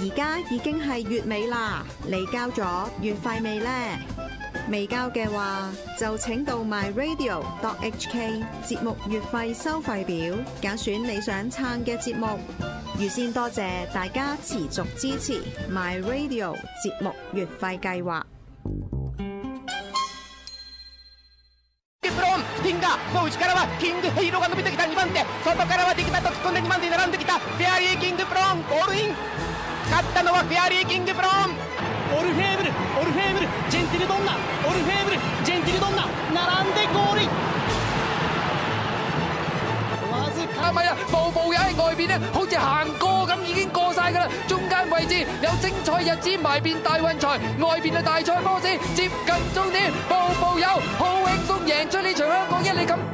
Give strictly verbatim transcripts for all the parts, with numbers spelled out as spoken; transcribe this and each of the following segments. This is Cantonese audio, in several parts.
而家已經係月尾啦，你交咗月費未呢？未交嘅話，就請到 my radio dot h k 節目月費收費表，揀選你想撐嘅節目。預先多謝大家持續支持 my radio 節目月費計劃。 Tinga、もう内からはキングヘイローが伸びてきたにばん手、外からはディキタと突っ込んでにばん手に並んできたフェアリーキングプローン、ゴールイン。勝ったのはフェアリーキングプローン。 オルフェーブル、オルフェーブル、ジェンティルドンナ、オルフェーブル、ジェンティルドンナ、並んでゴールイン。 哇！係咪啊？步步友喺外邊咧，好似行過咁已經過晒㗎啦。中間位置有精彩日子埋邊大運財，外邊嘅大賽波士接近終點，步步友好輕鬆贏出呢場香港一哩錦。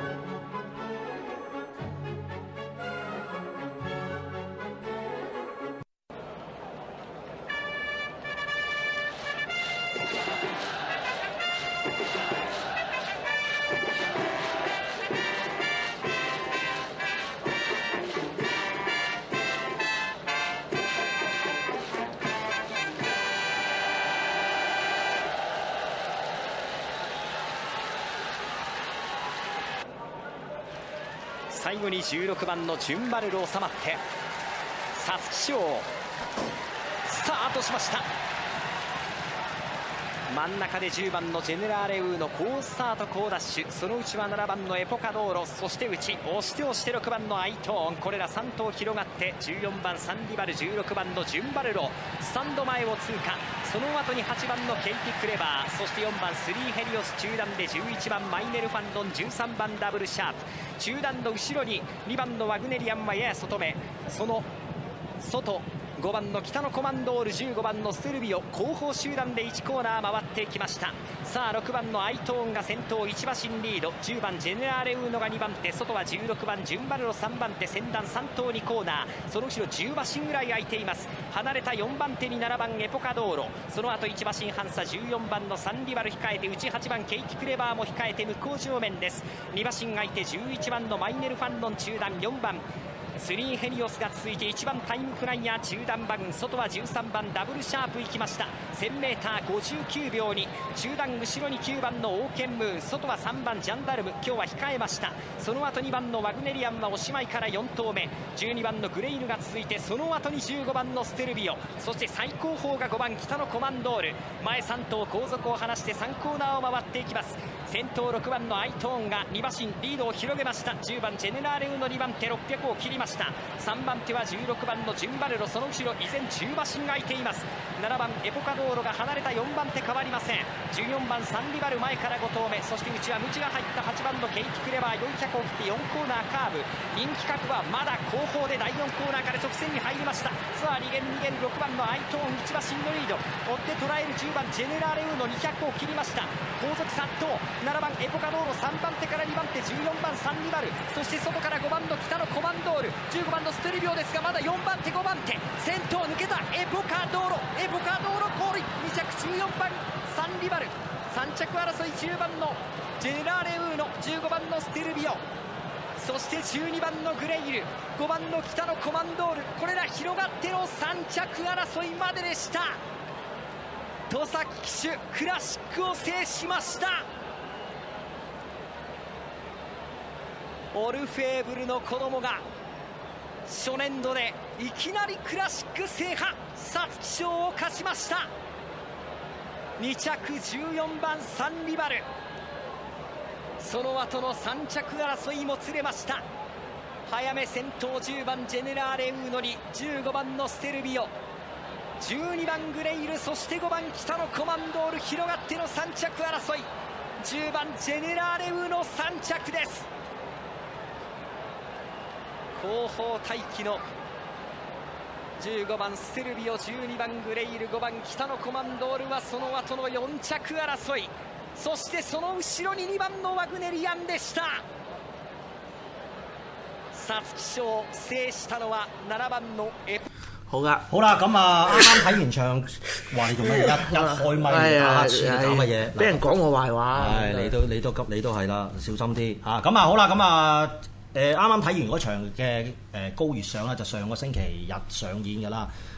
最後にじゅうろくばんのジュンバルル収まって皐月賞スタートしました。真ん中でじゅうばんのジェネラーレウーの好スタート好ダッシュ、そのうちはななばんのエポカドーロ、そして内押して押してろくばんのアイトーン、これらさん頭広がってじゅうよんばんサンリバル、じゅうろくばんのジュンバルロスタンド前を通過。その後にはちばんのケイティクレバー、そしてよんばんスリーヘリオス中段でじゅういちばんマイネルファンドン、じゅうさんばんダブルシャープ、中段の後ろににばんのワグネリアンはやや外目、その外ごばんの北のコマンドール、じゅうごばんのステルビオ、後方集団でいちコーナー回ってきました。さあろくばんのアイトーンが先頭、いち馬身リード、じゅうばんジェネラーレウーノがにばん手、外はじゅうろくばんジュンバルロさんばん手、先団さん頭にコーナー、その後ろじゅう馬身ぐらい空いています。離れたよんばん手にななばんエポカドーロ、その後いち馬身半差じゅうよんばんのサンリバル控えて、内はちばんケイティクレバーも控えて向こう正面です。に馬身空いてじゅういちばんのマイネルファンドン中段、よんばんスリーヘリオスが続いていちばんタイムフライヤー中段バグン、外はじゅうさんばんダブルシャープ行きました。 せんメーターごじゅうきゅうびょうに中段後ろにきゅうばんのオーケンムーン、外はさんばんジャンダルム、今日は控えました。その後にばんのワグネリアンはおしまいからよん頭目、じゅうにばんのグレイルが続いて、その後にじゅうごばんのステルビオ、そして最後方がごばん北のコマンドール、前さん頭後続を離してさんコーナーを回っていきます。先頭ろくばんのアイトーンがに馬身リードを広げました。じゅうばんジェネラーレウのにばん手ろっぴゃくを切りました。さんばん手はじゅうろくばんのジュンバルロ、その後ろ依然じゅう馬身が空いています。ななばんエポカドーロが離れたよんばん手変わりません。じゅうよんばんサンリバル前からご頭目、そして内はムチが入ったはちばんのケイティクレバー、よんひゃくを切ってよんコーナーカーブ、人気格はまだ後方でだいよんコーナーから直線に入りました。さあ逃げる逃げるろくばんのアイトーン、いち馬身のリード、追って捉えるじゅうばんジェネラーレウのにひゃくを切りました。後続殺到、ななばんエポカドーロ、さんばん手からにばん手、じゅうよんばんサンリバル、そして外からごばんの北のコマンドール、じゅうごばんのステルビオですが、まだよんばん手ごばん手、先頭抜けたエポカドーロ、エポカドーロゴールイン、に着じゅうよんばんサンリバル、さん着争いじゅうばんのジェネラーレウーノ、じゅうごばんのステルビオ、そしてじゅうにばんのグレイル、ごばんの北のコマンドール、これら広がってのさん着争いまででした。戸崎騎手クラシックを制しました。オルフェーブルの子供が初年度でいきなりクラシック制覇、皐月賞を勝ちました。に着じゅうよんばんサンリバル、その後のさん着争いもつれました。早め先頭じゅうばんジェネラーレウーノにじゅうごばんのステルビオ、じゅうにばんグレイル、そしてごばん北のコマンドール、広がってのさん着争い、じゅうばんジェネラーレウーノさん着です。後方待機のじゅうごばんステルビオ、じゅうにばんグレイル、ごばん北のコマンドールはその後のよん着争い、そしてその後ろににばんのワグネリアンでした。皐月賞を制したのはななばんのエポ。 好噶， 好啦，咁啊，啱啱睇完場，話你做乜一一開咪打黑黐搞乜嘢？ 俾人講我壞話。 係你都你都急你都係啦，小心啲嚇。咁啊好啦，咁啊誒啱啱睇完嗰場嘅誒高月賞啦，就上個星期日上演㗎啦。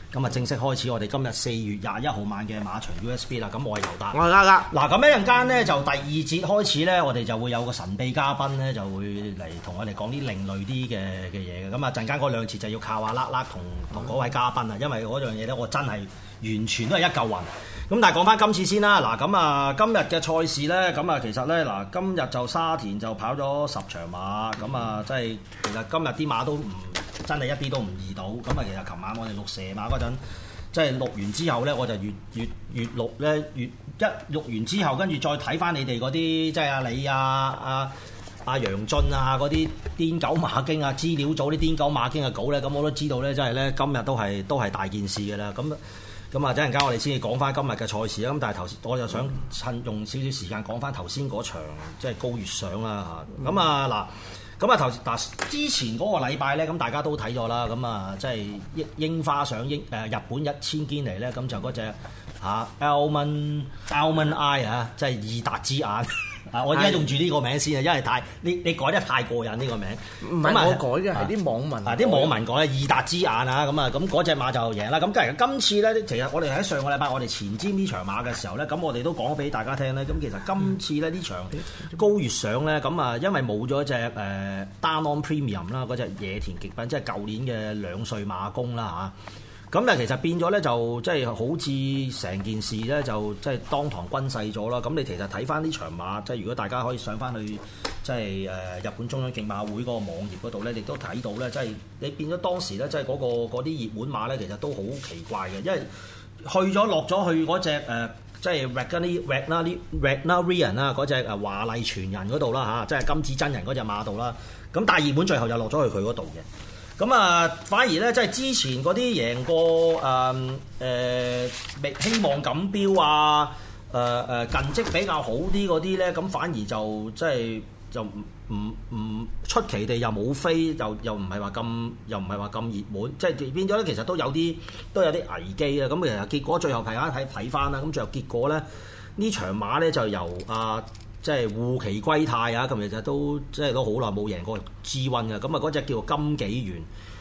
咁啊正式開始我哋今日四月廿一號晚嘅馬場 U S B 啦。咁我係尤達， 我係呃呃。 嗱咁一陣間咧就第二節開始咧，我哋就會有個神秘嘉賓咧就會嚟同我哋講啲另類啲嘅嘅嘢嘅。咁啊陣間嗰兩節就要靠阿叻叻同同嗰位嘉賓啊，因為嗰樣嘢咧我真係完全都係一嚿雲。咁但係講翻今次先啦，嗱咁啊今日嘅賽事咧，咁啊其實咧嗱今日就沙田就跑咗十場馬，咁啊即係其實今日啲馬都唔真係一啲都唔易到，咁啊其實琴晚我哋錄射馬嗰陣，即係錄完之後咧，我就越越越錄咧越一錄完之後，跟住再睇翻你哋嗰啲即係阿李啊阿阿楊俊啊嗰啲癲狗馬經啊資料組啲癲狗馬經嘅稿咧，咁我都知道咧，即係咧今日都係都係大件事嘅啦，咁。咁啊，陣間我哋先至講翻今日嘅賽事啦。咁但係頭先，我就想趁用少少時間講翻頭先嗰場，即係高月賞啦嚇。咁啊嗱，咁啊頭嗱之前嗰個禮拜咧，咁大家都睇咗啦。咁啊，即係櫻櫻花賞櫻誒日本一千堅尼咧，咁就嗰隻嚇 Almond Almond Eye 啊，即係意達之眼。啊！我而家用住呢個名先啊，因為太你你改得太過癮呢個名。 唔係我改嘅，係啲網民。 啊！啲網民講咧，意達之眼啊，咁啊，咁嗰隻馬就贏啦。咁其實今次咧，其實我哋喺上個禮拜我哋前瞻呢場馬嘅時候咧，咁我哋都講俾大家聽咧。咁其實今次咧呢場高月賞咧，咁啊，因為冇咗隻誒 Danon Premium 啦，嗰隻野田極品，即係舊年嘅兩歲馬公啦嚇。咁但係其實變咗咧，就即係好似成件事咧，就即係當堂均勢咗啦。咁你其實睇翻呢場馬，即係如果大家可以上翻去即係誒日本中央競馬會嗰個網頁嗰度咧，亦都睇到咧，即係你變咗當時咧，即係嗰個嗰啲熱門馬咧，其實都好奇怪嘅，因為去咗落咗去嗰隻誒，即係 Wagnerian Wagnerian 啦，嗰隻誒華麗傳人嗰度啦嚇，即係金子真人嗰隻馬度啦。咁但係熱門最後又落咗去佢嗰度嘅。咁啊，反而咧，即係之前嗰啲贏過誒誒、呃，希望錦標啊，誒、呃、誒近績比較好啲嗰啲咧，咁反而就即係就唔唔唔出奇地又冇飛，又又唔係話咁，又唔係話咁熱門，即係變咗咧，其實都有啲都有啲危機啊！咁其實結果最後大家睇睇翻啦，咁最後結果咧呢場馬咧就由啊〜即係護旗歸泰啊！咁其實都即係都好耐冇贏過 G 一嘅，咁啊嗰隻叫做金紀元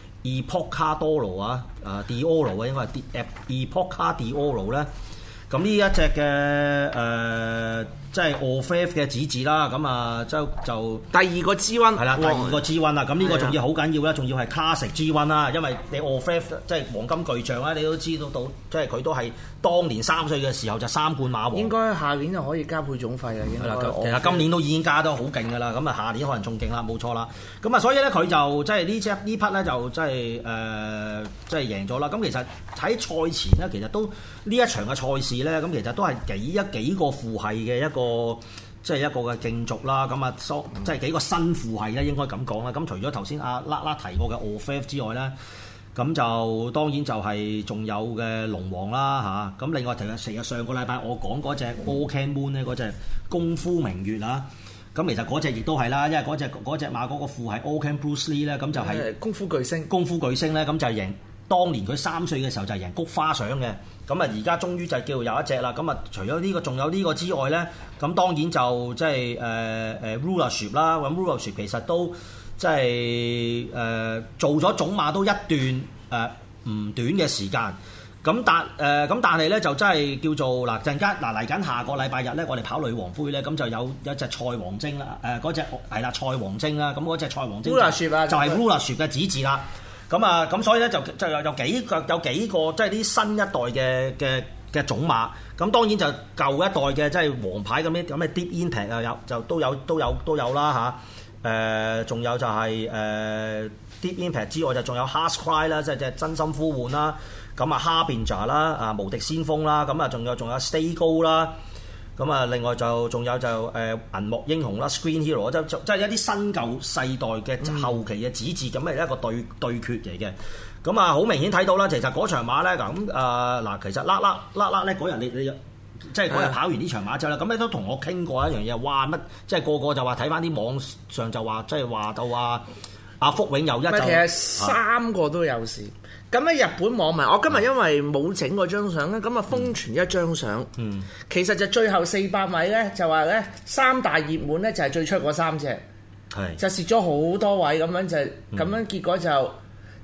Epocadoro 啊，啊 Dioro 啊應該係 Epoca Dioro 咧。咁呢一隻嘅誒即係 Orfeo 嘅子字啦，咁啊就就第二個 G 一係啦，第二個 G 一啦，咁呢個仲要好緊要啦，仲要係 Classic G 一啦，因為你 Orfeo 即係黃金巨匠啦，你都知道到，即係佢都係當年三歲嘅時候就三冠馬王， 應該下年就可以加配種費啦，應該。 其實今年都已經加得好勁㗎啦，咁啊下年可能仲勁啦，冇錯啦。咁啊所以咧佢就即係呢隻呢匹咧就即係誒即係贏咗啦。咁其實喺賽前咧，其實都呢一場嘅賽事咧，咁其實都係幾一幾個父系嘅一個即係一個嘅競逐啦。咁啊，即係幾個新父系咧，應該咁講啦。咁除咗頭先阿拉拉提過嘅 Orfeo 之外咧，咁就當然就係仲有嘅龍王啦嚇。咁另外其實成日上個禮拜我講嗰隻 Okan Moon 咧，嗰隻功夫明月啊。咁其實嗰隻亦都係啦，因為嗰隻嗰隻馬嗰個父係 Okan Bruce Lee 咧，咁就係功夫巨星。功夫巨星咧，咁就係贏當年佢三歲嘅時候就係贏菊花賞嘅。咁啊，而家終於就叫做有一隻啦。咁啊，除咗呢個，仲有呢個之外咧，咁當然就即係誒誒 Rulership 啦。咁 Rulership 其實都即係誒做咗種馬都一段誒唔、呃、短嘅時間。咁但誒咁但係咧就真係叫做嗱陣間嗱嚟緊下個禮拜日咧，我哋跑女王杯咧，咁就有有一隻賽王精啦。誒嗰隻係啦，賽王精啦。咁嗰隻賽王精就係 Rulership 嘅子字啦。咁啊，咁所以咧就就有有幾個有幾個即係啲新一代嘅嘅嘅種馬。咁當然就舊一代嘅即係黃牌咁啲咁嘅 Deep Impact 啊，有就都有都有都有啦嚇。誒，仲有就係誒 Deep Impact 之外，就仲有 Harsh Cry 啦，即係即係真心呼喚啦。咁啊，Harbinger 啦，啊無敵先鋒啦，咁啊仲有仲有 Stay Gold 啦。咁啊，另外就仲有就誒銀幕英雄啦 ，Screen Hero 即即係一啲新舊世代嘅後期嘅子嗣咁嘅一個對對決嚟嘅。咁啊，好明顯睇到啦，其實嗰場馬咧咁誒嗱，其實啦啦啦啦咧嗰日你你即係嗰日跑完呢場馬之後咧，咁你都同我傾過一樣嘢，哇乜即係個個就話睇翻啲網上就話即係話到話阿福永有一就其實三個都有事。咁咧日本網民，我今日因為冇整嗰張相咧，咁啊瘋傳一張相。嗯，其實就最後四百米咧，就話咧三大熱門咧就係最出嗰三隻，係就蝕咗好多位咁樣就咁樣，結果就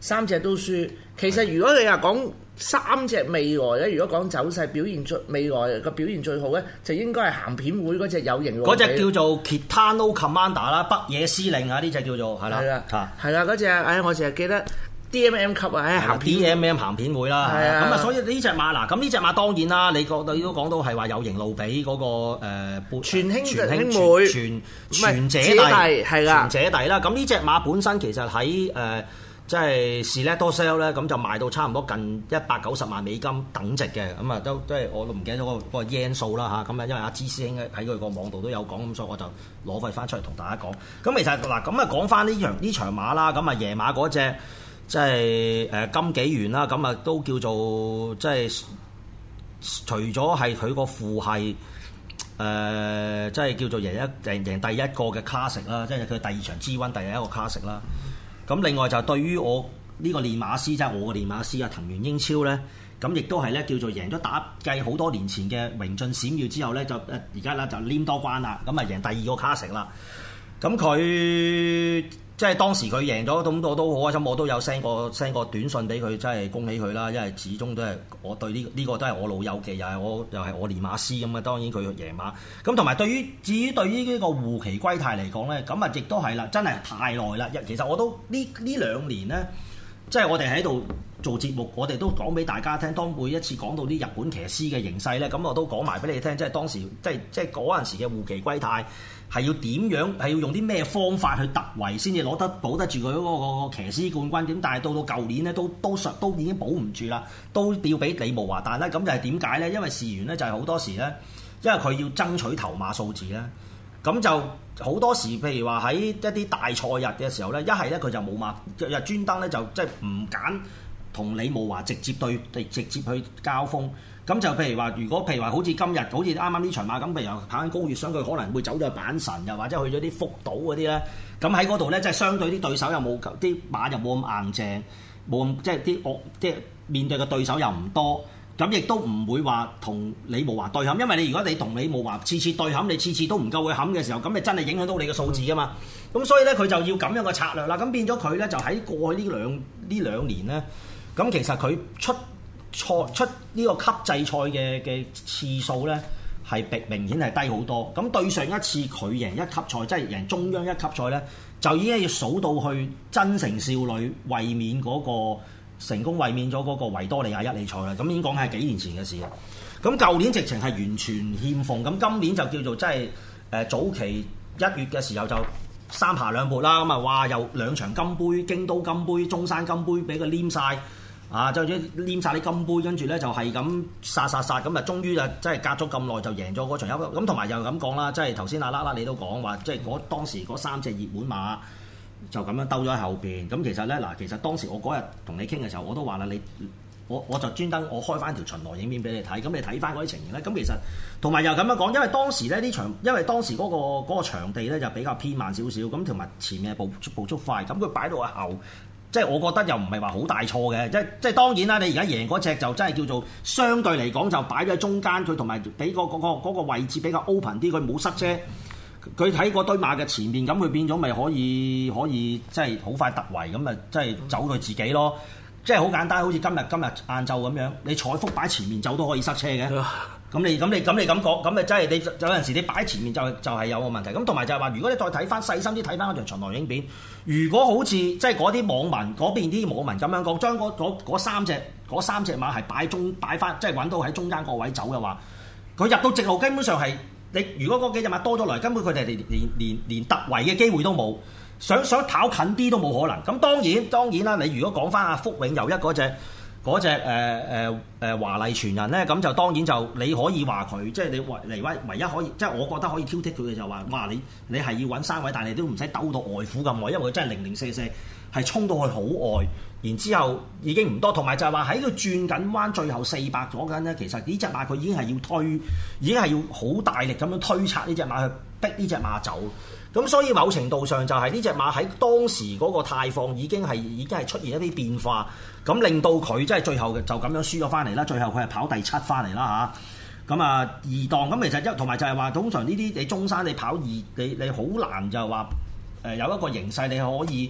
三隻都輸。其實如果你話講三隻未來咧，如果講走勢表現最未來個表現最好咧，就應該係鹹片會嗰隻有型嗰隻叫做 Kitano Commander 啦，北野司令啊，呢隻叫做係啦， 係啦，係啦嗰隻，唉，我淨係記得 D M M 級啊，唉，鹹片 D M M 鹹片會啦，係啊，咁啊，所以呢隻馬嗱，咁呢隻馬當然啦，你覺你都講到係話有型路比嗰個誒全兄全兄妹全全姐弟係啦， 全姐弟啦，咁呢隻馬本身其實喺誒。即係 Selector Sale 咧，咁就賣到差唔多近一百九十萬美金等值嘅，咁啊都即係我都唔記得咗嗰個嗰個 yen 數啦嚇，咁啊因為阿芝師兄喺佢個網度都有講，咁所以我就攞翻翻出嚟同大家講。咁其實嗱，咁啊講翻呢場呢場馬啦，咁啊爺馬嗰隻即係誒金紀元啦，咁啊都叫做即係除咗係佢個父係誒，即係叫做贏一贏贏第一個嘅 Classic 啦，即係佢第二場 G 一 第一個 Classic 啦。咁另外就對於我呢個練馬師，即係我嘅練馬師啊，藤原英超咧，咁亦都係咧叫做贏咗打計好多年前嘅榮進閃耀之後咧，就誒而家咧就黏多關啦，咁啊贏第二個 Classic啦。咁佢即係當時佢贏咗，咁我都好開心，我都有 send 個 send 個短信俾佢，真係恭喜佢啦，因為始終都係我對呢、這、呢個都係我老友記，又係我又係我練馬師咁啊。當然佢贏馬，咁同埋對於至於對於呢個護旗歸泰嚟講咧，咁啊亦都係啦，真係太耐啦。其實我都呢呢兩年咧，即係我哋喺度做節目，我哋都講俾大家聽。當每一次講到啲日本騎師嘅形勢咧，咁我都講埋俾你聽，即係當時即係即係嗰陣時嘅護旗歸泰。係要點樣？係要用啲咩方法去突圍先至攞得保得住佢嗰個騎師冠軍？點？但係到到舊年咧，都都實都已經保唔住啦，都要俾李慕華。但係咧，咁就係點解咧？因為事緣咧就係好多時咧，因為佢要爭取頭馬數字咧，咁就好多時，譬如話喺一啲大賽日嘅時候咧，一係咧佢就冇馬，又專登咧就即係唔揀同李慕華直接對直接去交鋒。咁就譬如話，如果譬如話，好似今日，好似啱啱呢場馬咁，譬如跑緊高月賞，佢可能會走咗去阪神，又或者去咗啲福島嗰啲咧。咁喺嗰度咧，即係相對啲對手又冇啲馬又冇咁硬淨，冇咁即係啲惡，即係面對嘅對手又唔多。咁亦都唔會話同李慕華對冚，因為你如果你同李慕華次次對冚，你次次都唔夠佢冚嘅時候，咁咪真係影響到你嘅數字噶嘛。咁所以咧，佢就要咁樣嘅策略啦。咁變咗佢咧，就喺過去呢兩呢兩年咧，咁其實佢出賽出呢個級制賽嘅嘅次數咧，係明顯係低好多。咁對上一次佢贏一級賽，即係贏中央一級賽咧，就已經要數到去真誠少女衛冕嗰個成功衛冕咗嗰個維多利亞一哩賽啦。咁已經講係幾年前嘅事啦。咁舊年直情係完全欠奉，咁今年就叫做即係誒早期一月嘅時候就三爬兩撥啦。咁啊，哇！又兩場金杯，京都金杯、中山金杯俾佢黏晒。啊！就咁黏晒啲金杯，跟住咧就係咁殺殺殺咁啊！終於就真係隔咗咁耐就贏咗嗰場優。咁同埋又咁講啦，即係頭先阿啦啦你都講話，即係嗰當時嗰三隻熱門馬就咁樣兜咗喺後邊。咁其實咧嗱，其實當時我嗰日同你傾嘅時候，我都話啦，你我我就專登我開翻條巡邏影片俾你睇，咁你睇翻嗰啲情形咧。咁其實同埋又咁樣講，因為當時咧呢場，因為當時嗰、嗰個嗰個場地咧就比較偏慢少少，咁同埋前面步步速快，咁佢擺到喺後。即係我覺得又唔係話好大錯嘅，即係即係當然啦。你而家贏嗰隻就真係叫做相對嚟講就擺咗喺中間，佢同埋俾個嗰個嗰個位置比較 open 啲，佢冇塞車。佢喺嗰堆馬嘅前面，咁佢變咗咪可以可以即係好快突圍咁咪即係走佢自己咯。即係好簡單，好似今日今日晏晝咁樣，你彩福擺前面走都可以塞車嘅。咁你咁你咁你咁講，咁咪真係你有陣時你擺前面就就係有個問題。咁同埋就係話，如果你再睇翻細心啲睇翻嗰場巡邏影片，如果好似即係嗰啲網民嗰邊啲網民咁樣講，將嗰嗰三隻嗰三隻馬係擺中擺翻，即係揾到喺中間個位走嘅話，佢入到直路基本上係你如果嗰幾隻馬多咗嚟，根本佢哋連連連連突圍嘅機會都冇，想想跑近啲都冇可能。咁當然當然啦，你如果講翻阿福永祐一嗰隻。嗰隻誒誒誒華麗傳人咧，咁就當然就你可以話佢，即係你唯嚟唯唯一可以，即係我覺得可以挑剔佢嘅就話，哇！你你係要揾三位，但係你都唔使兜到外虎咁耐，因為佢真係零零四四係衝到去好外，然之後已經唔多，同埋就係話喺佢轉緊彎最後四百咗緊咧，其實呢隻馬佢已經係要推，已經係要好大力咁樣推拆呢隻馬去逼呢隻馬走。咁所以某程度上就係呢隻馬喺當時嗰個態況已經係已經係出現一啲變化，咁令到佢即係最後就咁樣輸咗翻嚟啦。最後佢係跑第七翻嚟啦嚇。咁啊二檔咁其實一同埋就係話通常呢啲你中山你跑二你你好難就話誒有一個形勢你可以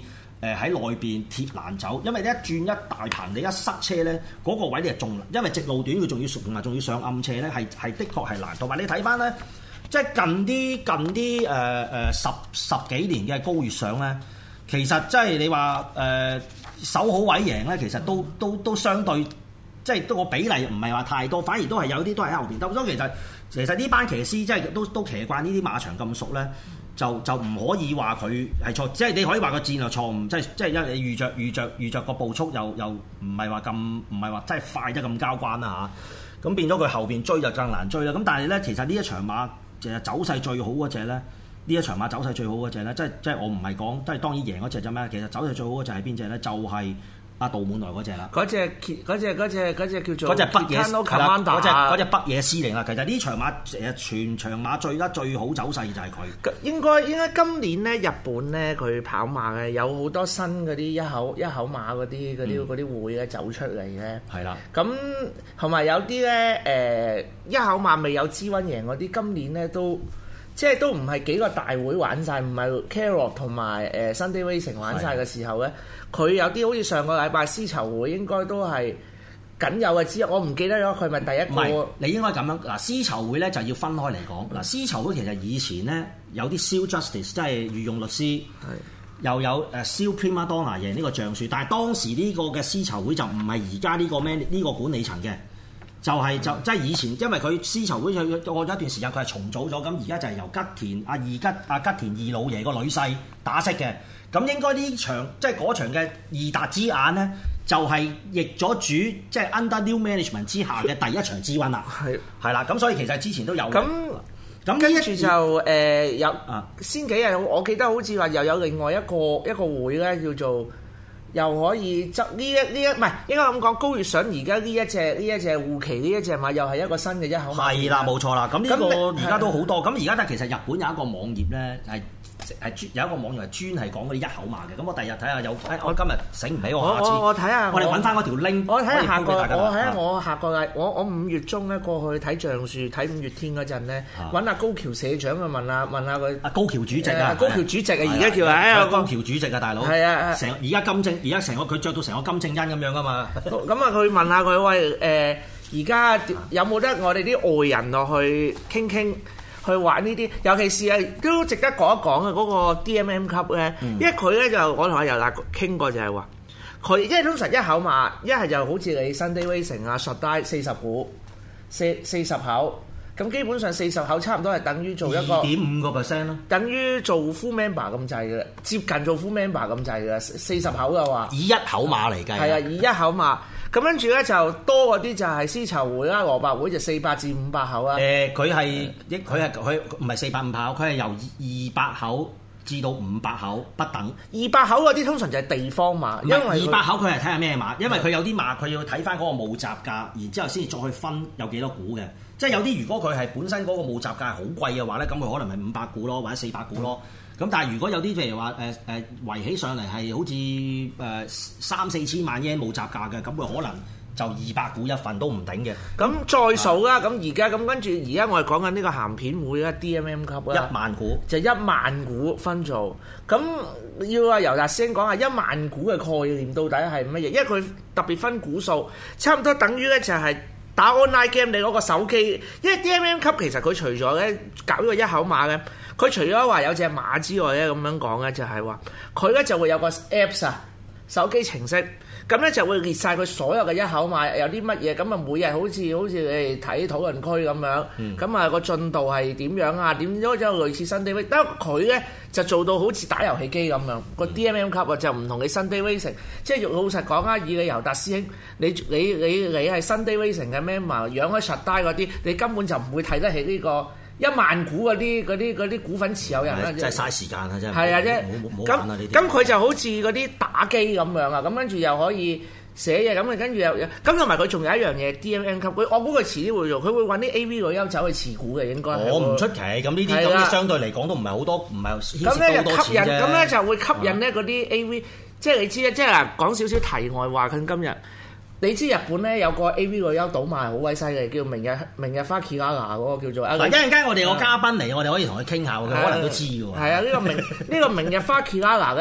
誒喺內邊貼欄走，因為你一轉一大棚，你一塞車咧，嗰、那個位你係仲，因為直路短佢仲要同埋仲要上暗斜咧，係係的確係難。同埋你睇翻咧，即係近啲近啲誒誒十十幾年嘅皋月賞咧，其實即係你話誒、呃、守好位贏咧，其實都都都相對即係都個比例唔係話太多，反而都係有啲都喺後邊。咁所以其實其實呢班騎師即係都都騎慣呢啲馬場咁熟咧。就就唔可以話佢係錯，即係你可以話個戰略錯誤，即係即係因為你預着預着預着個步速又又唔係話咁唔係話真係快得咁交關啦嚇，咁變咗佢後邊追就更難追啦。咁但係咧，其實呢一場馬其實走勢最好嗰隻咧，呢一場馬走勢最好嗰隻咧，即係即係我唔係講，即係當然贏嗰隻啫咩？其實走勢最好嗰隻係邊隻咧？就係、是。阿杜滿來嗰隻啦， 嗰隻嗰隻嗰隻嗰隻叫做嗰隻北野係啦，嗰隻嗰隻北野司令啦。其實呢場馬誒全場馬最得最好走勢就係佢。 應該應該今年咧日本咧佢跑馬嘅有好多新嗰啲一口一口馬嗰啲嗰啲嗰啲會咧走出嚟嘅。係啦、嗯，咁同埋有啲咧誒一口馬未有資溫贏嗰啲，今年咧都。即係都唔係幾個大會玩晒，唔係 Carol 同埋誒 Sunday Racing 玩晒嘅時候咧，佢有啲好似上個禮拜絲綢會應該都係僅有嘅之一，我唔記得咗佢咪第一個。 唔係，你應該咁樣嗱，絲綢會咧就要分開嚟講嗱，絲綢會其實以前咧有啲 Seal Justice 即係御用律師，又有誒 Seal Prima Donna 贏呢個橡樹，但係當時呢個嘅絲綢會就唔係而家呢個咩呢、呢個管理層嘅。就係、是、就即係以前，因為佢絲綢會佢過咗一段時間，佢係重組咗，咁而家就係由吉田阿二吉阿吉田二老爺個女婿打識嘅，咁應該呢場即係嗰場嘅二達之眼咧，就係、是、易咗主即係 under new management 之下嘅第一場之溫啦，係係啦，咁所以其實之前都有咁咁跟住就誒、呃、有、啊、先幾日我記得好似話又有另外一個一個會咧叫做。又可以執呢一呢一唔係應該咁講，皋月賞而家呢一隻呢一隻護旗呢一隻馬又係一個新嘅一口馬。 係啦，冇錯啦。咁呢個而家都好多。咁而家但其實日本有一個網頁咧係。係專有一個網頁係專係講嗰啲一口馬嘅，咁我第日睇下有，我今日醒唔起我下次， 我我睇下， 我哋揾翻嗰條 link， 我睇下下個，我睇下我下個禮，我我五月中咧過去睇橡樹睇五月天嗰陣咧，揾阿高橋社長去問下問下佢， 阿高橋主席啊， 高橋主席啊，而家叫啊， 高橋主席啊，大佬， 係啊， 成而家金正，而家成個佢着到成個金正恩咁樣啊嘛， 咁啊佢問下佢喂誒，而家有冇得我哋啲外人落去傾傾？去玩呢啲，尤其是係都值得講一講嘅嗰個 D M M 級咧，嗯、因為佢咧就我同阿尤達傾過就係話，佢因為通常一口馬一係就好似你 Sunday Racing 啊、Shot 四十股、四四十口，咁基本上四十口差唔多係等於做一個二點五個 percent 咯， 等於做 full member 咁滯嘅，接近做 full member 咁滯嘅，四十口嘅話， 以一口馬嚟計， 係啊，以一口馬。咁跟住咧就多嗰啲就係絲綢會啦，蘿蔔會就四百至五百口啦。 誒，佢係佢係佢唔係四百五百口，佢係由二百口至到五百口不等。 二百口嗰啲通常就係地方馬，因為二百口佢係睇下咩馬，因為佢有啲馬佢要睇翻嗰個募集價，然之後先至再去分有幾多股嘅。即係有啲如果佢係本身嗰個募集價係好貴嘅話咧，咁佢可能係五百股咯，或者四百股咯。咁、嗯、但係如果有啲譬如話誒誒圍起上嚟係好似誒、呃、三四千萬 yen 募集價嘅，咁佢可能就二百股一份都唔頂嘅。 咁再數啦，咁而家咁跟住而家我哋講緊呢個鹹片會啦 ，D M M 級啦， 一萬股就一萬股分做。咁要阿尤達師兄講下一萬股嘅概念到底係乜嘢？因為佢特別分股數，差唔多等於咧就係打 online game 你嗰個手機。因為 D M M 級其實佢除咗咧搞呢個一口馬嘅。佢除咗話有隻馬之外咧，咁樣講咧就係話佢咧就會有個 Apps 啊，手機程式，咁咧就會列晒佢所有嘅一口馬有啲乜嘢，咁啊每日好似好似你哋睇討論區咁樣，咁啊個進度係點樣啊？點咗之後類似 Sunday Racing，但係佢咧就做到好似打遊戲機咁樣，個 D M M 級啊就唔同你 Sunday Racing，即係老實講啊，以你尤達師兄，你你你你係 Sunday Racing 嘅 member，養開實帶嗰啲，你根本就唔會睇得起呢個。一萬股嗰啲嗰啲嗰啲股份持有人啦， 真係嘥時間啊！真係係啊，啫咁咁佢就好似嗰啲打機咁樣啊，咁跟住又可以寫嘢，咁跟住又咁同埋佢仲有一樣嘢 D M M 級，佢我估佢遲啲會做，佢會揾啲 A V 女優走去持股嘅應該。 我唔出奇，咁呢啲咁啲相對嚟講都唔係好多，唔係咁咧就吸引，咁咧就會吸引咧嗰啲 A V，即係你知啊，即係嗱講少少題外話，佢今日。你知日本咧有個 A V 女優倒賣好鬼犀利，叫明日明日花綺拉娜嗰個叫做。 嗱一陣間我哋有嘉賓嚟，我哋可以同佢傾下，佢可能都知嘅喎。 係啊，呢個明呢個明日花綺拉娜咧，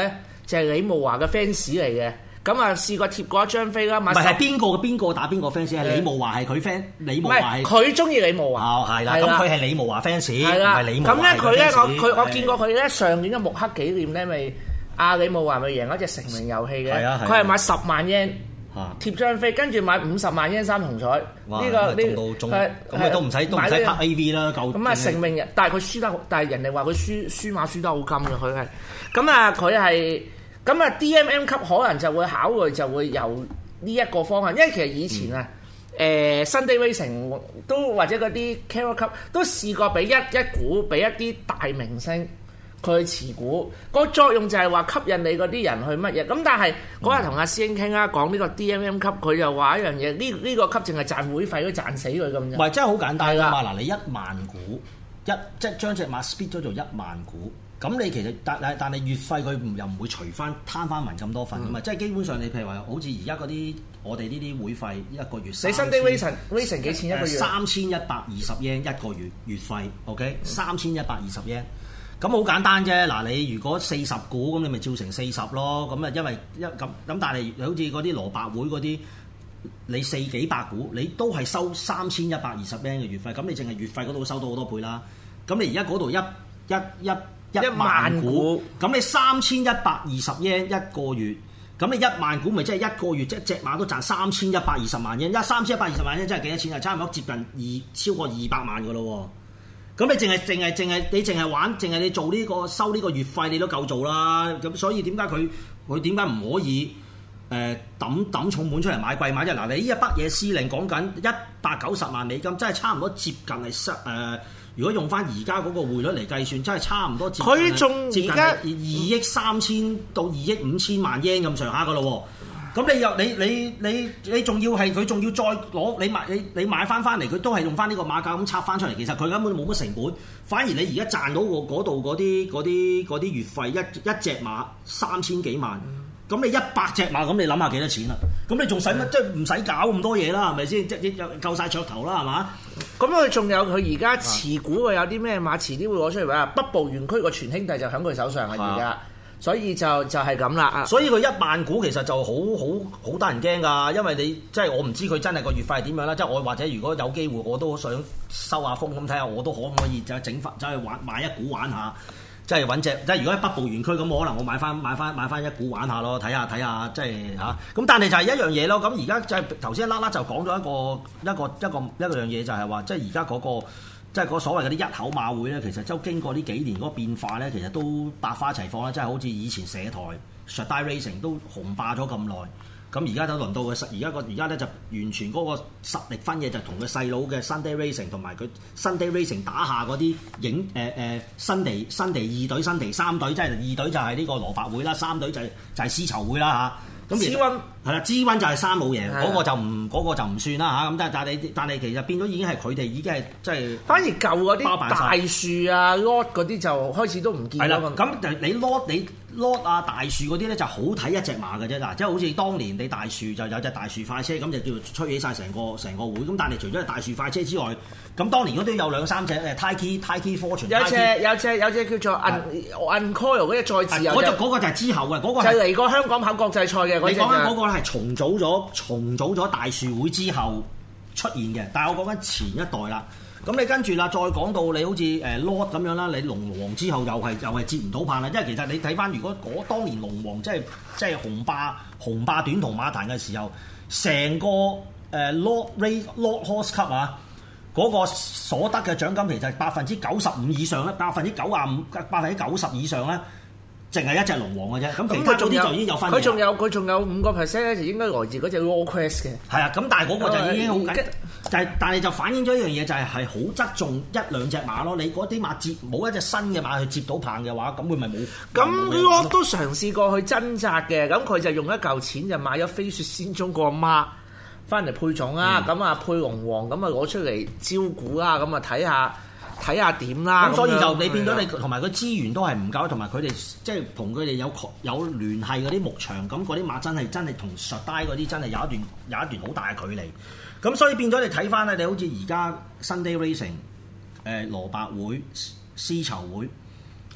就係李慕華嘅 fans 嚟嘅。咁啊試過貼過一張飛啦， 唔係係邊個嘅邊個打邊個 fans？係李慕華係佢 fans，李慕華係佢中意李慕華。 哦，係啦，咁佢係李慕華 fans，唔係李慕華嘅 fans。 咁咧佢咧我佢我見過佢咧上年嘅木刻紀念咧咪阿李慕華咪贏嗰隻成名遊戲嘅，佢係買十萬 yen 貼張飛，跟住買五十萬 yen 三重彩。呢個呢個咁佢都唔使都唔使拍 A V 啦，夠。 咁啊成名人，但係佢輸得，但係人哋話佢輸輸馬輸得好金嘅，佢係咁啊佢係。咁啊 D M M 級可能就會考慮就會由呢一個方向，因為其實以前啊，誒、嗯呃、Sunday Racing 都或者嗰啲 Carol 級都試過俾一一股俾一啲大明星佢去持股，個作用就係話吸引你嗰啲人去乜嘢。咁但係嗰日同阿師兄傾啦，講呢個 D M M 級，佢就話一樣嘢，呢、呢、呢個級淨係賺會費，都賺死佢咁樣。 唔係真係好簡單㗎嘛！嗱，你一萬股一即係將隻馬 split 咗做一萬股。咁你其實但但但係月費佢又唔會除翻攤翻勻咁多份㗎嘛，嗯、即係基本上你譬如話好似而家嗰啲我哋呢啲會費一個月，你 Sunday Racing Racing 幾錢一個月？ 三千一百二十 yen 一個月月費 ，OK， 三千一百二十 yen。咁好簡單啫，嗱你如果四十股咁，你咪照成四十咯。咁啊，因為一咁咁，但係好似嗰啲蘿蔔會嗰啲，你四幾百股，你都係收三千一百二十 yen 嘅月費。咁你淨係月費嗰度收到好多倍啦。咁你而家嗰度一一一一萬股，咁你三千一百二十 yen 一個月，咁你一萬股咪即係一個月，即係隻馬都賺三千一百二十萬 yen，一三千一百二十萬 yen 真係幾多錢啊？差唔多接近二超過二百萬噶咯喎。咁你淨係淨係淨係你淨係玩，淨係你做呢、呢個收呢個月費，你都夠做啦。咁所以點解佢佢點解唔可以誒抌抌重本出嚟買貴馬啫？嗱，你呢一筆嘢司令講緊一百九十萬美金，真係差唔多接近係失誒。呃如果用翻而家嗰個匯率嚟計算，真係差唔多接近佢仲而家二億三千到二億五千萬 yen 咁上下噶咯喎。咁你又你你你你仲要係佢仲要再攞你買你你買翻翻嚟，佢都係用翻呢個馬價咁拆翻出嚟。其實佢根本冇乜成本，反而你而家賺到嗰度嗰啲嗰啲嗰啲月費一一隻馬三千幾萬。咁你一百隻馬，咁你諗下幾多錢啦？咁你仲使乜？即係唔使搞咁多嘢啦，係咪先？即係夠晒噱頭啦，係嘛？咁佢仲有佢而家持股嘅有啲咩馬？遲啲會攞出嚟話北部園區個全兄弟就喺佢手上啊！而家，所以就就係咁啦。所以佢一萬股其實就好好好得人驚㗎，因為你即係我唔知佢真係個月費係點樣啦。即係我或者如果有機會，我都想收下風咁睇下，我都可唔可以就整翻走去玩買一股玩下。即係揾隻，即係如果喺北部園區咁，可能我買翻買翻買翻一股玩下咯，睇下睇下，即係嚇。咁但係就係一樣嘢咯。咁而家就係頭先一啦啦就講咗一個一個一個一個樣嘢，就係話即係而家嗰個即係嗰所謂嗰啲一口馬會咧，其實都經過呢幾年嗰個變化咧，其實都百花齊放啦。即係好似以前社台 Shaddai Racing 都紅霸咗咁耐。咁而家都輪到佢實，而家個而家咧就完全嗰個實力分野就同佢細佬嘅 Sunday Racing 同埋佢 Sunday Racing 打下嗰啲影誒誒新地新地二隊新地三隊，即係二隊就係呢個蘿蔔會啦，三隊就係就係絲綢會啦嚇。咁 G 溫係啦 ，G 溫就係三老爺，嗰個就唔嗰個就唔算啦嚇。咁但係但係你但係其實變咗已經係佢哋已經係即係反而舊嗰啲大樹啊 Lot 嗰啲就開始都唔見啦。咁你 Lot 你 Lot 啊大樹嗰啲咧就好睇一隻馬嘅啫嗱，即係好似當年你大樹就有隻大樹快車咁就叫做吹起晒成個成個會。咁但係除咗係大樹快車之外，咁當年嗰都有兩三隻誒 Taiki Taiki Fortune，有隻有隻有隻叫做 Uncoil 嗰隻再自由，嗰隻嗰個就係之後嘅嗰個就嚟過香港跑國際賽嘅。你講緊嗰個咧係重組咗重組咗大樹會之後出現嘅，但係我講緊前一代啦。咁你跟住啦，再講到你好似誒 Lord 咁樣啦，你龍王之後又係又係接唔到棒啦。因為其實你睇翻，如果嗰當年龍王即係即係紅霸紅霸短途馬壇嘅時候，成個誒 Lord Race Lord Horse Cup 啊，嗰、那個所得嘅獎金其實百分之九十五以上咧，百分之九啊五百分之九十以上咧。淨係一隻龍王嘅啫，咁其他嗰啲就已經有分。佢仲有佢仲有五個 percent 咧，就應該來自嗰隻 Raw Quest 嘅。係啊，咁但係嗰個就已經好緊，但係但係就反映咗一樣嘢，就係係好側重一兩隻馬咯。你嗰啲馬接冇一隻新嘅馬去接到棒嘅話，咁佢咪冇。咁我都嘗試過去掙扎嘅，咁佢就用一嚿錢就買咗飛雪仙蹤個馬翻嚟配種啊，咁啊、嗯、配龍王，咁啊攞出嚟招股啊，咁啊睇下。睇下點啦，咁所以就你變咗你同埋個資源都係唔夠，同埋佢哋即係同佢哋有有聯繫嗰啲牧場，咁嗰啲馬真係真係同 Shaddai嗰啲真係有一段有一段好大嘅距離。咁所以變咗你睇翻咧，你好似而家 Sunday Racing、誒蘿蔔會、絲綢會，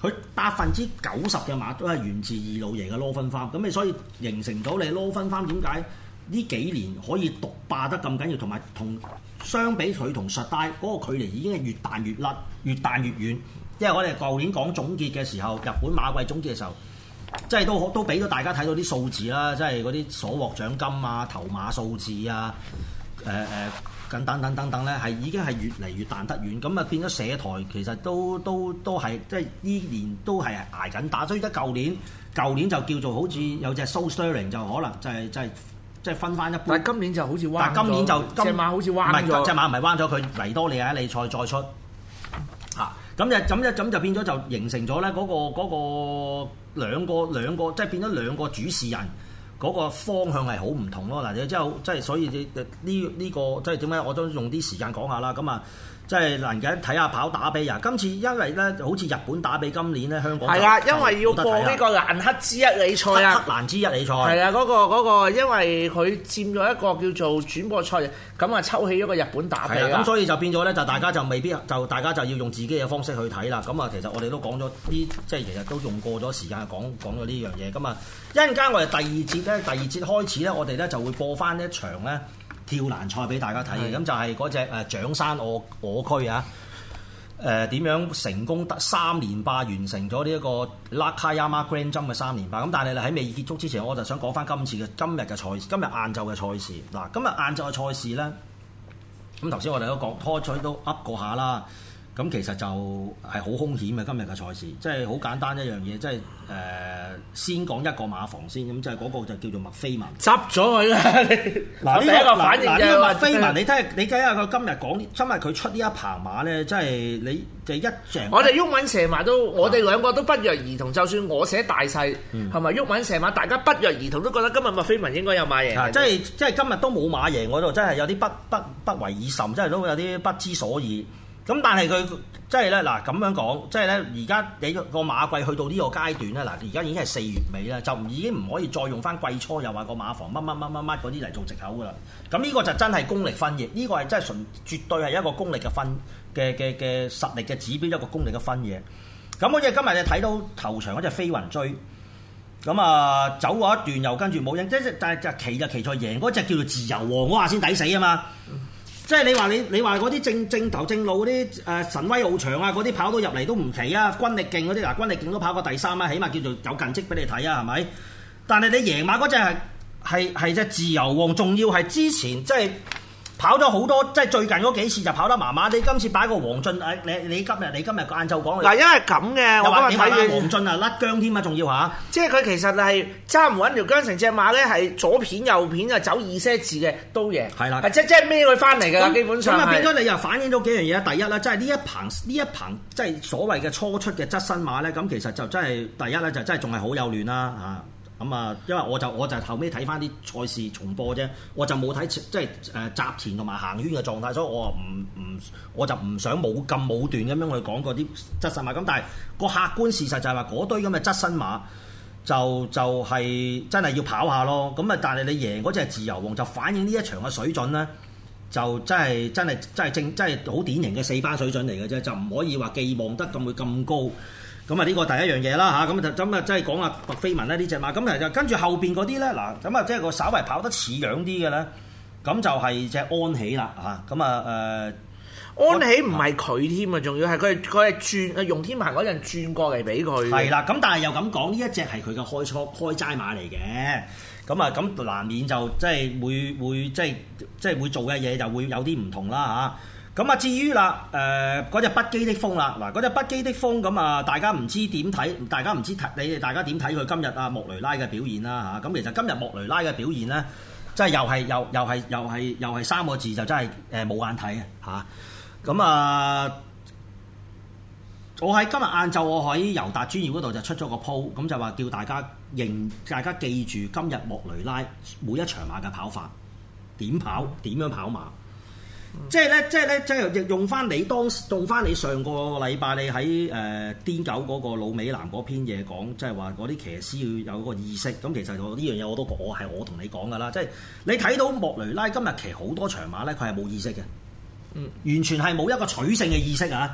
佢百分之九十嘅馬都係源自二老爺嘅羅芬花，咁你所以形成到你羅芬花點解呢幾年可以獨霸得咁緊要，同埋同相比佢同實帶嗰個距離已經係越彈越甩，越彈越遠。因為我哋舊年講總結嘅時候，日本馬季總結嘅時候，即係都都俾到大家睇到啲數字啦，即係嗰啲所獲獎金啊、頭馬數字啊、誒、呃、誒。呃等等等等等咧，係已經係越嚟越彈得遠，咁啊變咗社台其實都都都係即係呢年都係捱緊打，所以得舊年舊年就叫做好似有隻 Soul Stirring 就可能就係就係即係分翻一半。 但係今年就好似彎咗。但係今年就隻馬好似彎咗。唔係隻馬唔係彎咗，佢維多利亞利賽再出嚇，咁、啊、就咁就咁就變咗就形成咗咧嗰個嗰、嗰個兩個兩個即係變咗兩個主事人。嗰個方向係好唔同咯，嗱，你之後即係所以你呢呢個即係點解我都用啲時間講下啦，咁啊，即係嗱而家睇下跑打比啊，今次因為咧好似日本打比今年咧香港係啊，因為要播呢個蘭克之一哩賽啊，克蘭之一哩賽係啊，嗰、嗰個嗰、嗰個因為佢佔咗一個叫做轉播賽，咁啊抽起咗個日本打比啊，咁所以就變咗咧就大家就未必就大家就要用自己嘅方式去睇啦，咁啊其實我哋都講咗啲即係其實都用過咗時間講講咗呢樣嘢，咁啊一陣間我哋第二節咧第二節開始咧我哋咧就會播翻一場咧。跳欄賽俾大家睇嘅，咁就係嗰隻誒長山我我區啊，誒、呃、點樣成功得三連霸完成咗呢一個 Nakayama Grand Jump 嘅三連霸，咁但係喺未結束之前，我就想講翻今次嘅今日嘅賽事，今日晏晝嘅賽事嗱，今日晏晝嘅賽事咧，咁頭先我哋都講拖取都噏過下啦。咁其實就係好兇險嘅今日嘅賽事，即係好簡單一樣嘢，即係誒、呃、先講一個馬房先，咁就係嗰個就叫做麥菲文，執咗佢啦！嗱呢、這個反應就麥菲文，你睇下你睇下佢今日講，今日佢出呢一棚馬咧，即係你就一隻。我哋鬱敏射馬都，我哋兩個都不約而同，就算我寫大細，係咪鬱敏射馬，大家不約而同都覺得今日麥菲文應該有馬贏。即係即係今日都冇馬贏，我就真係有啲不不不為已甚，真係都有啲不知所以。咁但係佢即係咧嗱咁樣講，即係咧而家你個馬季去到呢個階段咧，嗱而家已經係四月尾啦，就已經唔可以再用翻季初又話個馬房乜乜乜乜乜嗰啲嚟做藉口噶啦。咁呢個就真係功力分野，呢、呢個係真係純絕對係一個功力嘅分嘅嘅嘅實力嘅指標，一個功力嘅分野。咁好似今日你睇到頭場嗰隻飛雲追，咁啊走過一段又跟住冇影，即係但係就騎就騎在贏嗰隻叫做自由王，我話先抵死啊嘛！即係你話你你話嗰啲正正頭正路嗰啲誒神威奧長啊嗰啲跑到入嚟都唔奇啊，軍力勁嗰啲嗱軍力勁都跑過第三啊，起碼叫做有近績俾你睇啊，係咪？但係你贏馬嗰隻係係係隻自由王，仲要係之前即係跑咗好多，即係最近嗰幾次就跑得麻麻。你今次擺個黃俊誒，你你今日你今日晏晝講嗱，因為咁嘅，我今日睇嘅黃俊啊甩姜添啊，仲要嚇，即係佢其實係揸唔穩條姜，成隻馬咧係左片右片啊，走二些字嘅都贏，係啦，係即即係孭佢翻嚟㗎，基本上咁啊變咗你又反映咗幾樣嘢啊！第一啦，即係呢一棚呢一棚即係所謂嘅初出嘅側身馬咧，咁其實就真係第一咧就真係仲係好幼嫩啦嚇。咁啊，因為我就我就後尾睇翻啲賽事重播啫，我就冇睇即係誒閘前同埋行圈嘅狀態，所以我唔唔我就唔想冇咁武斷咁樣去講嗰啲側身馬。咁但係個客觀事實就係話嗰堆咁嘅側身馬就就係、是、真係要跑下咯。咁啊，但係你贏嗰隻自由王就反映呢一場嘅水準咧，就真係真係真係正真係好典型嘅四班水準嚟嘅啫，就唔可以話寄望得咁會咁高。咁啊呢個第一樣嘢啦嚇，咁就咁啊即係講阿麥菲文咧呢隻馬，咁啊就跟住後邊嗰啲咧嗱，咁啊即係個稍為跑得似樣啲嘅咧，咁就係隻安喜啦嚇，咁啊誒安喜唔係佢添啊，仲要係佢佢係轉用天棚嗰陣轉過嚟俾佢。係啦，咁但係又咁講，呢一隻係佢嘅開初開齋馬嚟嘅，咁啊咁難免就即係會會即係即係會做嘅嘢就會有啲唔同啦嚇。咁啊，至於啦，誒嗰隻不羈的風啦，嗱嗰隻不羈的風咁啊，大家唔知點睇，大家唔知睇你哋大家點睇佢今日啊莫雷拉嘅表現啦嚇，咁其實今日莫雷拉嘅表現咧，即係又係又又係又係又係三個字就真係誒冇眼睇嘅嚇，咁啊，我喺今日晏晝我喺尤達專業嗰度就出咗個 po，咁就話叫大家認，大家記住今日莫雷拉每一場馬嘅跑法，點跑點樣跑馬。即係咧，即係咧，即係用翻你當用翻你上個禮拜你喺誒癲狗嗰個老美男嗰篇嘢講，即係話嗰啲騎師要有個意識。咁其實我呢樣嘢我都我係我同你講㗎啦。即係你睇到莫雷拉今日騎好多場馬咧，佢係冇意識嘅，嗯，完全係冇一個取勝嘅意識啊！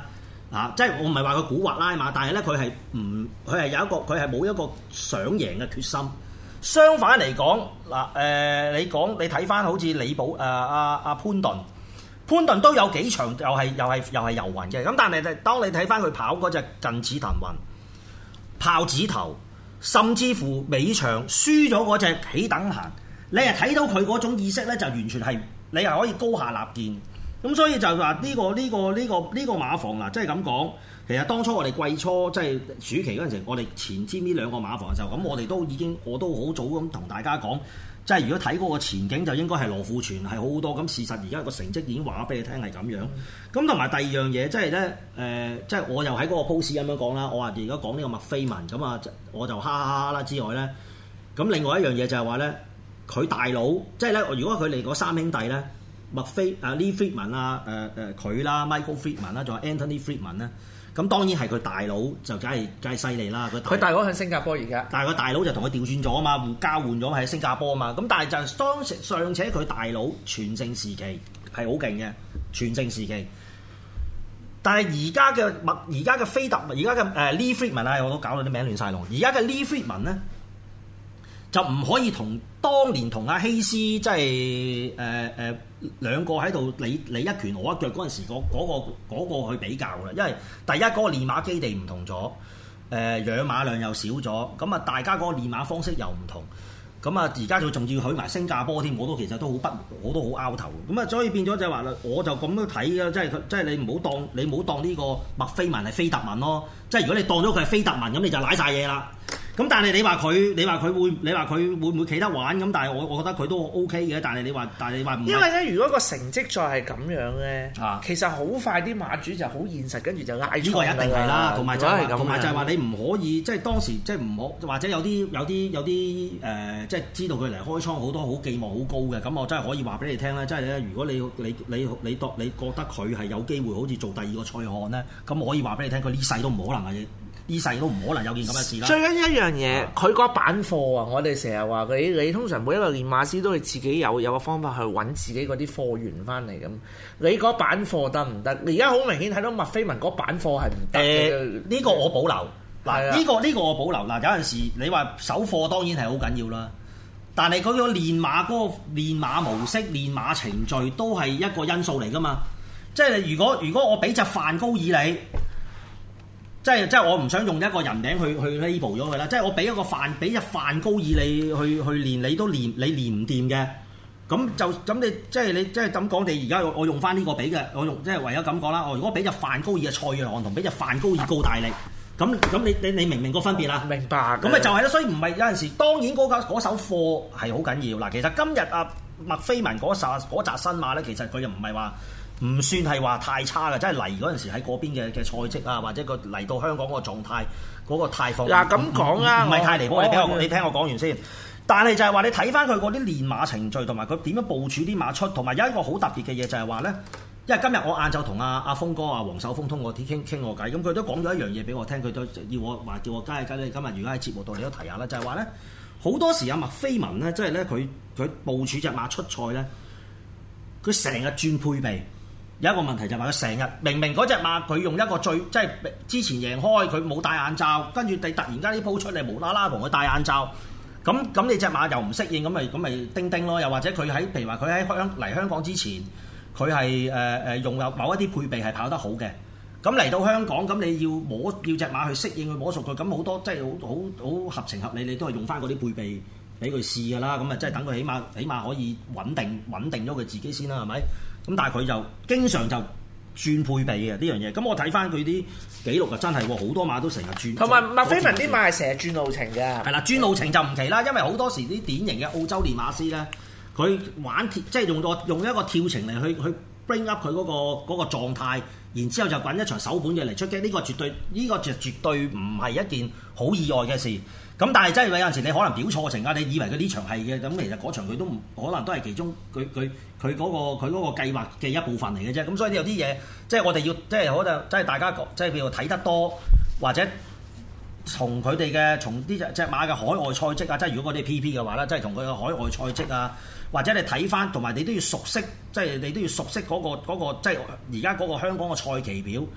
啊，即係我唔係話佢蠱惑拉馬，但係咧佢係唔佢係有一個佢係冇一個想贏嘅決心。相反嚟講嗱誒，你講你睇翻好似李寶誒阿阿潘頓，潘頓都有幾場又係又係又係遊魂嘅。咁但係當你睇翻佢跑嗰隻近似騰雲、豹子頭，甚至乎尾場輸咗嗰隻起等閒，你係睇到佢嗰種意識咧，就完全係你係可以高下立見。咁所以就話呢個呢個呢個呢個馬房嗱，即係咁講。其實當初我哋季初即係暑期嗰陣時，我哋前瞻呢兩個馬房嘅時候，咁我哋都已經我都好早咁同大家講，即係如果睇嗰個前景就應該係羅富全係好好多。咁事實而家個成績已經話俾你聽係咁樣。咁同埋第二樣嘢，即係咧誒，即係我又喺嗰個 post 咁樣講啦。我話而家講呢個麥菲文，咁啊我就哈哈哈哈啦之外咧，咁另外一樣嘢就係話咧，佢大佬即係咧，如果佢哋嗰三兄弟咧，麥菲啊 Lee Friedman 啊誒誒佢啦 Michael Friedman 啦，仲有 Anthony Friedman 咧。咁當然係佢大佬就梗係梗係犀利啦！ 佢大佬喺新加坡而家， 但係佢大佬就同佢調轉咗啊嘛，互交換咗喺新加坡啊嘛。咁但係就當尚且佢大佬全盛時期係好勁嘅，全盛時期。但係而家嘅麥而家嘅菲特而家嘅誒 Lee Friedman 啊，我都搞到啲名亂晒龍。而家嘅 Lee Friedman 咧就唔可以同當年同阿希斯即係誒誒兩個喺度你你一拳我一腳嗰陣時，嗰、嗰個嗰、嗰個去比較啦，因為第一嗰、嗰個練馬基地唔同咗，誒、呃、養馬量又少咗，咁啊大家嗰個練馬方式又唔同，咁啊而家就仲要許埋新加坡添，我都其實都好不我都好拗頭，咁啊所以變咗就係話啦，我就咁樣睇嘅，即係佢即係你唔好當你唔好當呢個麥菲文係菲特文咯，即係如果你當咗佢係菲特文咁你就賴晒嘢啦。咁但係你話佢，你話佢會，你話佢會唔會企得玩？咁但係我我覺得佢都 O K 嘅。但係你話，但係你話唔係。因為咧，如果個成績再係咁樣咧， 啊、 其實好快啲馬主就好現實，跟住就嗌出嚟啦。 呢個一定係啦，同埋就係同埋就係話你唔可以，即係當時即係唔好，或者有啲有啲有啲誒、呃，即係知道佢嚟開倉好多好寄望好高嘅，咁我真係可以話俾你聽咧，即係咧，如果你你你你當你覺得佢係有機會好似做第二個賽漢咧，咁我可以話俾你聽，佢呢世都唔可能係。呢世都唔可能有件咁嘅事啦。 最緊要一樣嘢，佢個板貨啊！我哋成日話你你通常每一個練馬師都係自己有有個方法去揾自己嗰啲貨源翻嚟咁。你嗰板貨得唔得？你而家好明顯睇到麥菲文嗰板貨係唔得嘅。 誒，呢個我保留。嗱，呢、呢個呢、呢個我保留。嗱，有陣時你話手貨當然係好緊要啦，但係嗰個練馬嗰個練馬模式、練馬程序都係一個因素嚟㗎嘛。即係如果如果我俾隻梵高爾你。即係即係我唔想用一個人名去去 label 咗佢啦，即係我俾一個飯俾隻飯高以你去去練，你都練你練唔掂嘅，咁就咁你即係你即係咁講，你而家我用翻呢個俾嘅，我用即係唯有咁講啦。我如果俾隻飯高以嘅蔡約翰同俾隻飯高以高大力，咁咁你你你明唔明個分別啦？ 明白。 咁咪就係咯，所以唔係有陣時，當然嗰架嗰手貨係好緊要。嗱，其實今日阿麥菲文嗰紮嗰紮新馬咧，其實佢又唔係話。唔算係話太差嘅，即係嚟嗰陣時喺嗰邊嘅嘅賽績啊，或者個嚟到香港個狀態嗰、嗰個態況。 嗱咁講啊， 唔係太離譜。 我你聽我，你聽我講完先。但係就係話你睇翻佢嗰啲練馬程序，同埋佢點樣部署啲馬出，同埋有一個好特別嘅嘢就係話咧，因為今日我晏晝同阿阿峰哥阿黃守峰通過傾傾我偈，咁佢都講咗一樣嘢俾我聽，佢都要我話叫我加一加你今日如果喺節目度你都提下啦，就係話咧好多時阿麥菲文咧，即係咧佢佢部署隻馬出賽咧，佢成日轉配備。有一個問題就係話佢成日明明嗰隻馬佢用一個最即係之前贏開佢冇戴眼罩，跟住你突然間呢鋪出嚟無啦啦同佢戴眼罩，咁咁你隻馬又唔適應，咁咪咁咪叮叮咯。又或者佢喺譬如話佢喺香嚟香港之前，佢係誒誒用有某一啲配備係跑得好嘅，咁嚟到香港咁你要摸要隻馬去適應去摸熟佢，咁好多即係好好好合情合理，你都係用翻嗰啲配備俾佢試㗎啦。咁啊即係等佢起碼起碼可以穩定穩定咗佢自己先啦，係咪？咁但係佢就經常就轉配備嘅呢樣嘢，咁我睇翻佢啲記錄就真係好多馬都成日轉。同埋麥菲文啲馬係成日轉路程嘅。 係啦，轉路程就唔奇啦，因為好多時啲典型嘅澳洲練馬師咧，佢玩跳即係用個用一個跳程嚟去去 bring up 佢嗰個嗰個狀態，然之後就揾一場手本嘅嚟出擊，呢個絕對呢個就絕對唔係一件好意外嘅事。咁但係真係有陣時你可能表錯情啊！你以為佢呢場係嘅，咁其實嗰場佢都唔可能都係其中佢佢佢嗰個佢嗰個計劃嘅一部分嚟嘅啫。咁所以有啲嘢即係我哋要即係可能即係大家即係譬如睇得多，或者從佢哋嘅從呢隻隻馬嘅海外賽績啊，即係如果嗰啲 P P 嘅話咧，即係同佢嘅海外賽績啊，或者你睇翻，同埋你都要熟悉，即係你都要熟悉嗰個嗰個即係而家嗰個香港嘅賽期表。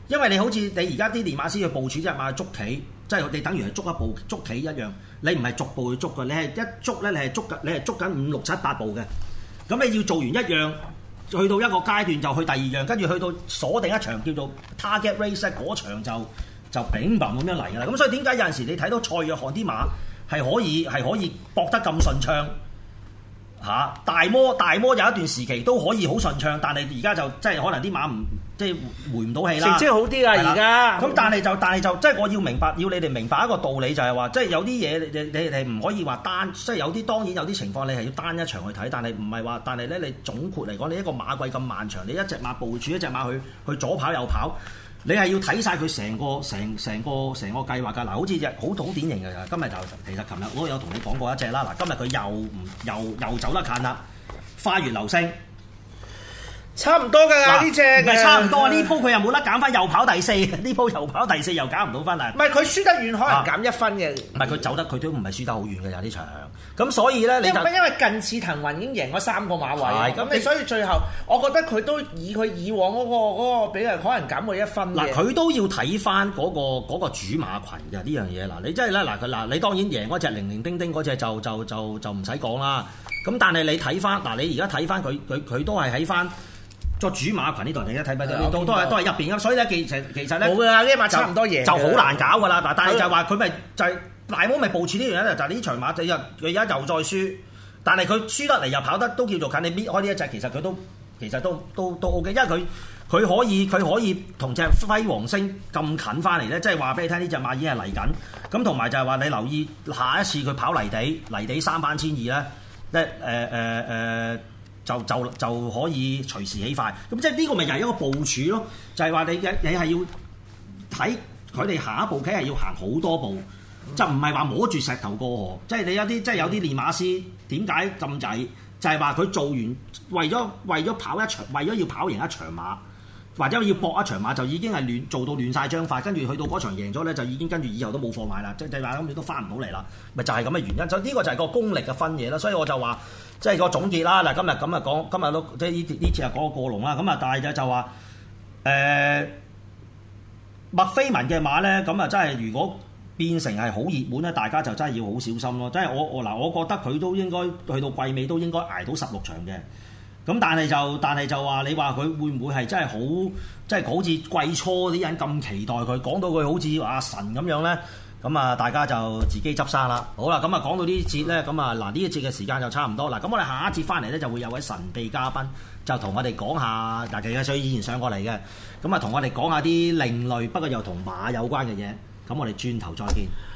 因為你好似你而家啲練馬師去部署隻馬去捉棋，即係你等於係捉一步捉棋一樣，你唔係逐步去捉嘅，你係一捉咧，你係捉緊你係捉緊五六七八步嘅。咁你要做完一樣，去到一個階段就去第二樣，跟住去到鎖定一場叫做 target race 嗰場就就乒乓咁樣嚟㗎啦。咁所以點解有陣時你睇到蔡約翰啲馬係可以係可以搏得咁順暢？嚇、啊、大摩大摩有一段時期都可以好順暢，但係而家就即係可能啲馬唔即係回唔到氣啦。 成績好啲啊！而家咁但係就但係就即係我要明白，要你哋明白一個道理就係話，即係有啲嘢你你你唔可以話單，即係有啲當然有啲情況你係要單一場去睇，但係唔係話，但係咧你總括嚟講，你一個馬季咁漫長，你一隻馬部署一隻馬去去左跑右跑。你係要睇晒佢成個成成個成個計劃㗎。嗱，好似隻好好典型嘅，今日就其實琴日我有同你講過一隻啦。嗱，今日佢又唔又又走得近啦，花月流星。 差唔多㗎啦，呢隻唔係差唔多啊！呢鋪佢又冇得減翻，又跑第四。呢鋪又跑第四，又減唔到分啦。 唔係佢輸得遠，可能減一分嘅。 唔係佢走得，佢都唔係輸得好遠嘅有呢場。咁所以咧，你就因為近次騰雲已經贏咗三個馬位，咁你所以最後我覺得佢都以佢以往嗰、嗰個嗰、嗰個比例，可能減佢一分嘅。 嗱，佢都要睇翻嗰個嗰、嗰個主馬群嘅呢樣嘢。嗱，你真係咧嗱，佢嗱你當然贏嗰隻零零丁丁嗰隻就就就就唔使講啦。咁但係你睇翻嗱，你而家睇翻佢佢佢都係喺翻個主馬群呢度，你而家睇翻都都係都係入邊嘅。所以咧，其實其實咧， 冇㗎啦，呢馬差唔多贏就好難搞㗎啦。嗱，但係就係話佢咪就係、是。大摩咪部署呢樣咧，就係呢場馬仔又佢而家又再輸，但係佢輸得嚟又跑得都叫做近。你搣開呢一隻，其實佢都其實都都都 O K，因為佢佢可以佢可以同隻輝煌星咁近翻嚟咧，即係話俾你聽呢隻馬已經係嚟緊。咁同埋就係話你留意下一次佢跑泥地泥地三班千二咧，咧誒誒誒就就就可以隨時起快。咁即係呢個咪又係一個部署咯，就係話你你係要睇佢哋下一步棋係要行好多步。就唔係話摸住石頭過河，即係你有啲即係有啲練馬師點解咁滯？就係話佢做完為咗為咗跑一場，為咗要跑贏一場馬，或者要搏一場馬，就已經係亂做到亂晒章法，跟住去到嗰場贏咗咧，就已經跟住以後都冇貨買啦，即係話咁你都翻唔到嚟啦，咪就係咁嘅原因。所以呢個就係個功力嘅分野啦。所以我就話即係個總結啦。嗱，今日咁啊講，今日都即係呢呢次係講個過龍啦。咁啊，但係就就話誒麥菲文嘅馬咧，咁啊真係如果變成係好熱門咧，大家就真係要好小心咯。即係我我嗱，我覺得佢都應該去到季尾都應該捱到十六場嘅。咁但係就但係就話你話佢會唔會係真係好即係好似季初啲人咁期待佢，講到佢好似阿神咁樣咧？咁啊，大家就自己執生啦。好啦，咁啊講到呢節咧，咁啊嗱呢一節嘅時間就差唔多啦。咁我哋下一節翻嚟咧就會有位神秘嘉賓，就同我哋講下嗱，其實佢以前上過嚟嘅，咁啊同我哋講下啲另類不過又同馬有關嘅嘢。咁我哋轉頭再見。